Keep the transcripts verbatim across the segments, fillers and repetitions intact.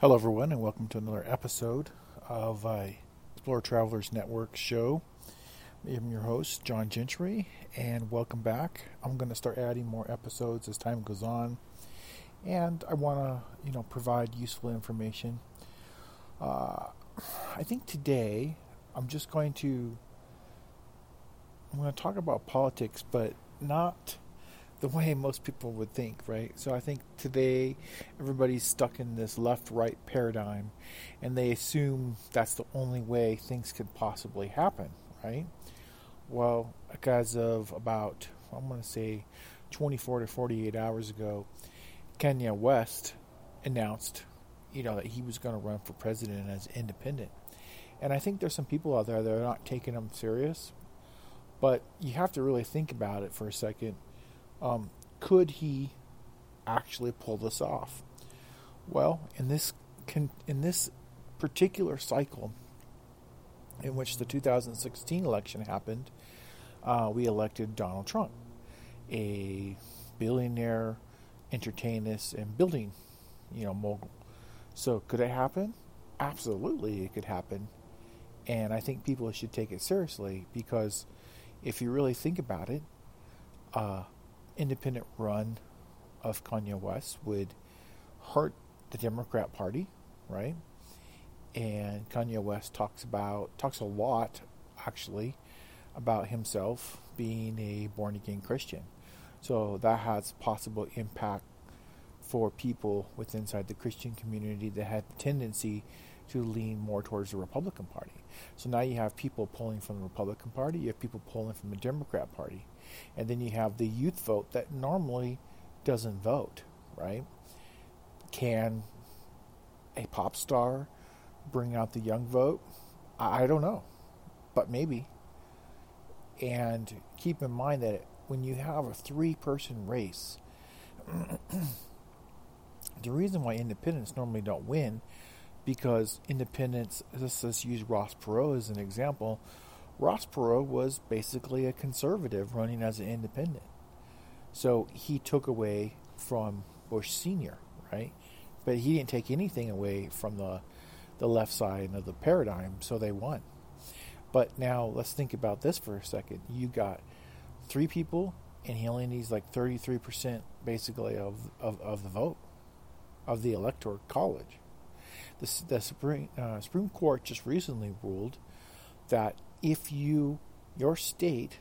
Hello, everyone, and welcome to another episode of uh, Explorer Travelers Network show. I'm your host, John Gentry, and welcome back. I'm going to start adding more episodes as time goes on, and I want to, you know, provide useful information. Uh, I think today I'm just going to I'm going to talk about politics, but not the way most people would think, right? So I think today everybody's stuck in this left-right paradigm, and they assume that's the only way things could possibly happen, right? Well, as of about, I'm going to say twenty-four to forty-eight hours ago, Kanye West announced, you know, that he was going to run for president as independent. And I think there's some people out there that are not taking him serious, but you have to really think about it for a second. Um, could he actually pull this off? Well, in this con- in this particular cycle, in which the two thousand sixteen election happened, uh, we elected Donald Trump, a billionaire, entertainist, and building, you know, mogul. So, could it happen? Absolutely, it could happen, and I think people should take it seriously because, if you really think about it, uh, independent run of Kanye West would hurt the Democrat Party, right? And Kanye West talks about talks a lot, actually, about himself being a born-again Christian. So that has possible impact for people within inside the Christian community that had the tendency to lean more towards the Republican Party. So now you have people pulling from the Republican Party, you have people pulling from the Democrat Party. And then you have the youth vote that normally doesn't vote, right? Can a pop star bring out the young vote? I don't know, but maybe. And keep in mind that when you have a three-person race, the reason why independents normally don't win, because independents, let's, let's use Ross Perot as an example. Ross Perot was basically a conservative running as an independent. So he took away from Bush Senior, right? But he didn't take anything away from the, the left side of the paradigm, so they won. But now let's think about this for a second. You got three people, and he only needs like thirty-three percent basically of, of, of the vote, of the electoral college. The, the Supreme, uh, Supreme Court just recently ruled that if you, your state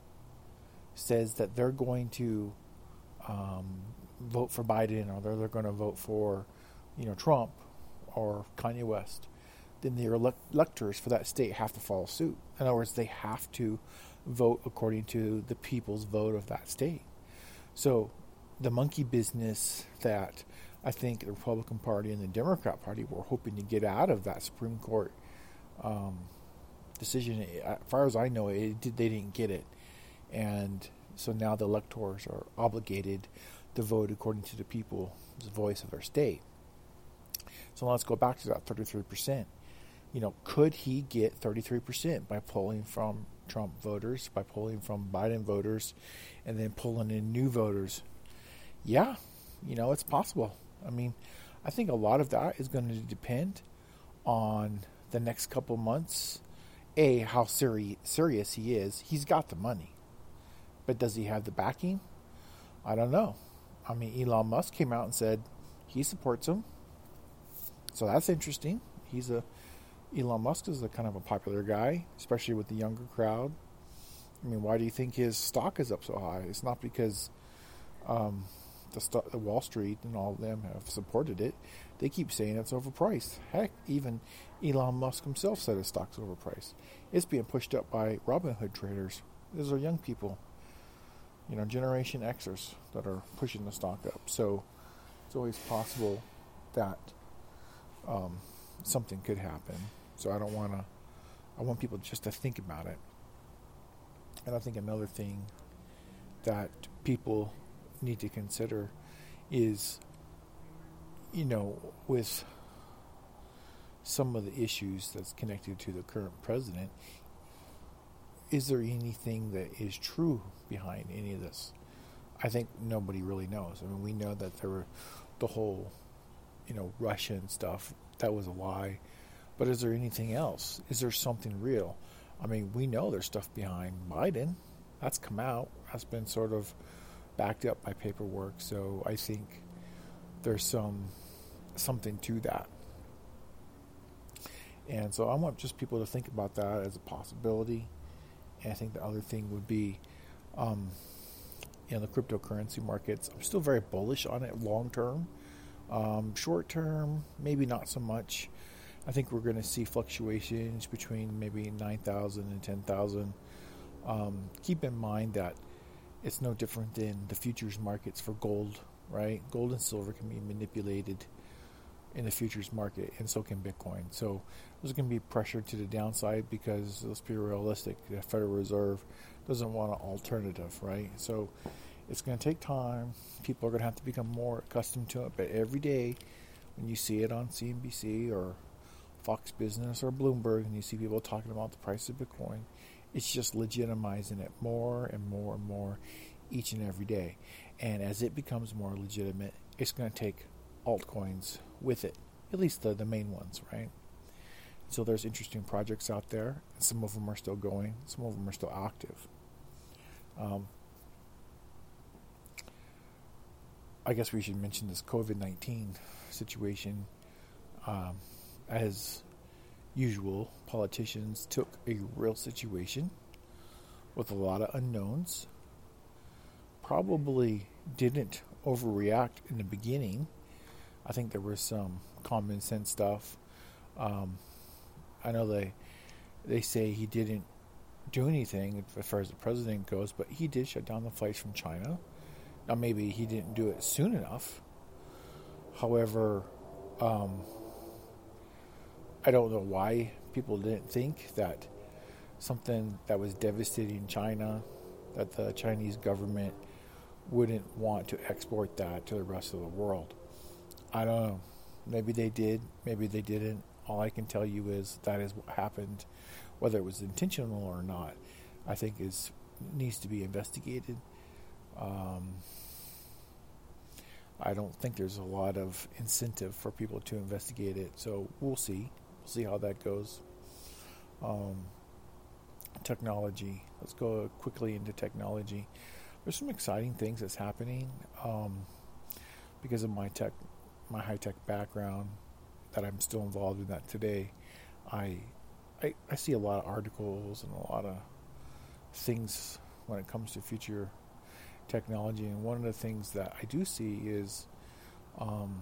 says that they're going to um, vote for Biden or they're, they're going to vote for, you know, Trump or Kanye West, then the elect- electors for that state have to follow suit. In other words, they have to vote according to the people's vote of that state. So the monkey business that I think the Republican Party and the Democrat Party were hoping to get out of that Supreme Court um, decision, as far as I know, it did, they didn't get it. And so now the electors are obligated to vote according to the people's voice of their state. So let's go back to that thirty-three percent. You know, could he get thirty-three percent by pulling from Trump voters, by pulling from Biden voters, and then pulling in new voters? Yeah, you know, it's possible. I mean, I think a lot of that is going to depend on the next couple months. A, how seri- serious he is. He's got the money. But does he have the backing? I don't know. I mean, Elon Musk came out and said he supports him. So that's interesting. He's a Elon Musk is a kind of a popular guy, especially with the younger crowd. I mean, why do you think his stock is up so high? It's not because um, the, st- the Wall Street and all of them have supported it. They keep saying it's overpriced. Heck, even Elon Musk himself said his stock's overpriced. It's being pushed up by Robinhood traders. Those are young people, you know, Generation Xers that are pushing the stock up. So it's always possible that um, something could happen. So I don't want to, I want people just to think about it. And I think another thing that people need to consider is, you know, with some of the issues that's connected to the current president, is there anything that is true behind any of this? I think nobody really knows. I mean, we know that there were the whole you know, Russian stuff, that was a lie. But is there anything else? Is there something real? I mean, we know there's stuff behind Biden. That's come out. That's been sort of backed up by paperwork. So I think there's some something to that. And so I want just people to think about that as a possibility. And I think the other thing would be, um, you know, the cryptocurrency markets. I'm still very bullish on it long term. Um, short term, maybe not so much. I think we're going to see fluctuations between maybe nine thousand and ten thousand. Um, keep in mind that it's no different than the futures markets for gold, right? Gold and silver can be manipulated in the futures market, and so can Bitcoin. So there's going to be pressure to the downside because, let's be realistic, the Federal Reserve doesn't want an alternative, right? So it's going to take time. People are going to have to become more accustomed to it. But every day when you see it on C N B C or Fox Business or Bloomberg and you see people talking about the price of Bitcoin, it's just legitimizing it more and more and more each and every day. And as it becomes more legitimate, it's going to take altcoins with it, at least the, the main ones, right? So there's interesting projects out there, and some of them are still going, some of them are still active. Um, I guess we should mention this COVID nineteen situation. Um, as usual, politicians took a real situation with a lot of unknowns, probably didn't overreact in the beginning. I think there was some common sense stuff. Um, I know they they say he didn't do anything as far as the president goes, but he did shut down the flights from China. Now, maybe he didn't do it soon enough. However, um, I don't know why people didn't think that something that was devastating China, that the Chinese government wouldn't want to export that to the rest of the world. I don't know. Maybe they did. Maybe they didn't. All I can tell you is that is what happened. Whether it was intentional or not, I think is needs to be investigated. Um, I don't think there's a lot of incentive for people to investigate it. So we'll see. We'll see how that goes. Um, technology. Let's go quickly into technology. There's some exciting things that's happening um, because of my tech. my high-tech background, that I'm still involved in that today. I, I I see a lot of articles and a lot of things when it comes to future technology, and one of the things that I do see is, um,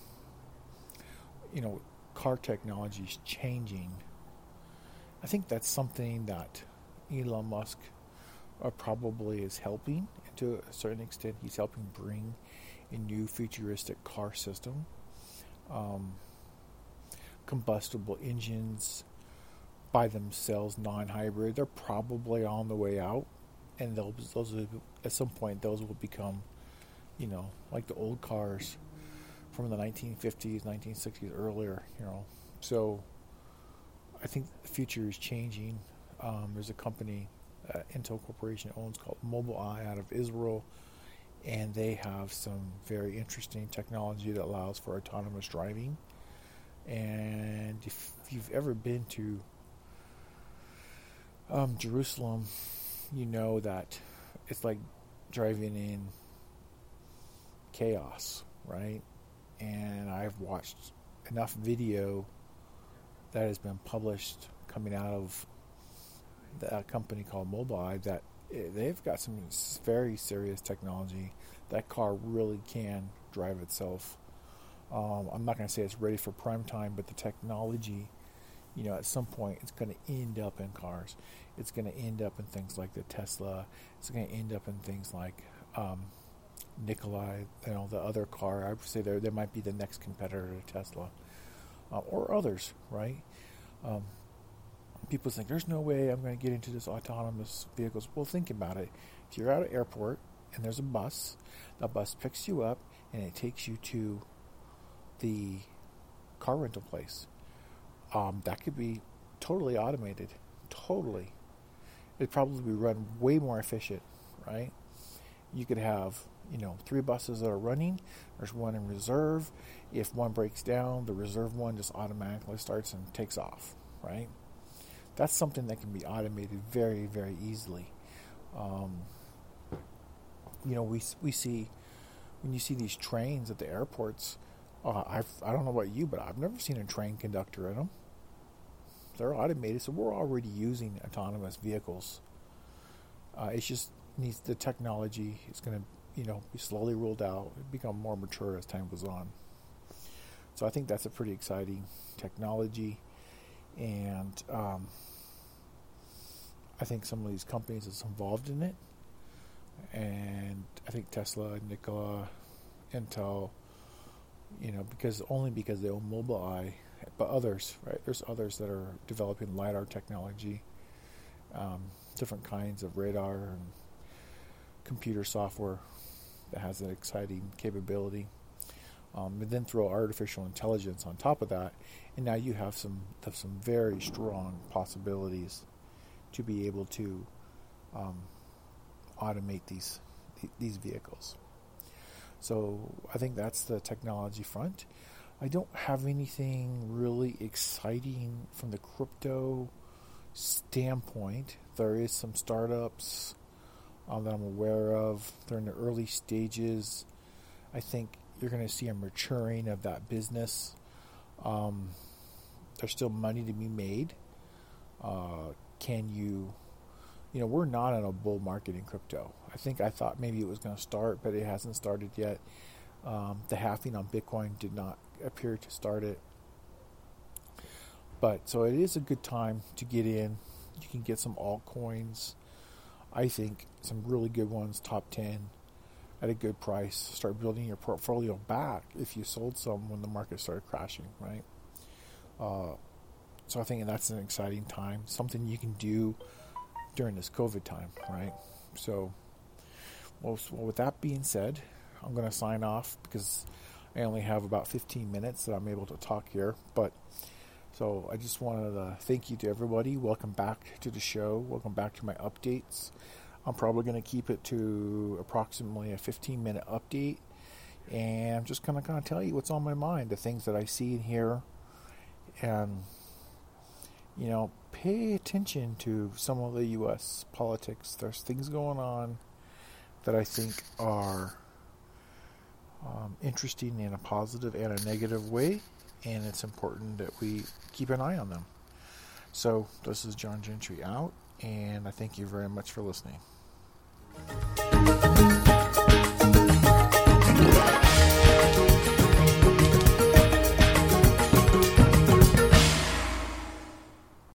you know, car technology is changing. I think that's something that Elon Musk uh, probably is helping, and to a certain extent he's helping bring a new futuristic car system. Um, combustible engines by themselves, non-hybrid, they're probably on the way out, and they'll, those will, at some point those will become, you know, like the old cars from the nineteen fifties, nineteen sixties, earlier, you know. So I think the future is changing. Um, there's a company that Intel Corporation owns called Mobileye out of Israel, and they have some very interesting technology that allows for autonomous driving. And if you've ever been to um, Jerusalem, you know that it's like driving in chaos, right? And I've watched enough video that has been published coming out of the company called Mobileye that they've got some very serious technology. That car really can drive itself. Um, I'm not going to say it's ready for prime time, but the technology, you know, at some point it's going to end up in cars. It's going to end up in things like the Tesla. It's going to end up in things like um, Nikola, you know, the other car. I would say there there might be the next competitor to Tesla, uh, or others, right? Um, people think there's no way I'm going to get into this autonomous vehicles. Well, think about it. If you're at an airport and there's a bus, the bus picks you up and it takes you to the car rental place. Um, that could be totally automated. Totally. It'd probably be run way more efficient, right? You could have, you know, three buses that are running. There's one in reserve. If one breaks down, the reserve one just automatically starts and takes off, right? That's something that can be automated very, very easily. Um, you know, we we see, when you see these trains at the airports, uh, I've, I don't know about you, but I've never seen a train conductor in them. They're automated, so we're already using autonomous vehicles. Uh, it just needs the technology. It's going to, you know, be slowly rolled out, become more mature as time goes on. So I think that's a pretty exciting technology, and um, I think some of these companies that's involved in it, and I think Tesla, Nikola, Intel, you know, because only because they own Mobileye, but others, right? There's others that are developing LiDAR technology, um, different kinds of radar and computer software that has an exciting capability. Um, and then throw artificial intelligence on top of that, and now you have some have some very strong possibilities to be able to um, automate these these vehicles. So I think that's the technology front. I don't have anything really exciting from the crypto standpoint. There is some startups um, that I'm aware of. They're in the early stages. I think you're going to see a maturing of that business. Um, there's still money to be made. Uh, can you, you know, we're not in a bull market in crypto. I think I thought maybe it was going to start, but it hasn't started yet. Um, the halving on Bitcoin did not appear to start it. But so it is a good time to get in. You can get some altcoins. I think some really good ones, top ten, at a good price. Start building your portfolio back if you sold some when the market started crashing, right? Uh, so I think that's an exciting time, something you can do during this COVID time, right? So, well, so with that being said, I'm going to sign off because I only have about fifteen minutes that I'm able to talk here. But so I just wanted to thank you to everybody. Welcome back to the show. Welcome back to my updates. I'm probably going to keep it to approximately a fifteen minute update, and I'm just going to kind of tell you what's on my mind, the things that I see and hear, and you know, pay attention to some of the U S politics. There's things going on that I think are um, interesting in a positive and a negative way, and it's important that we keep an eye on them. So this is John Gentry out, and I thank you very much for listening.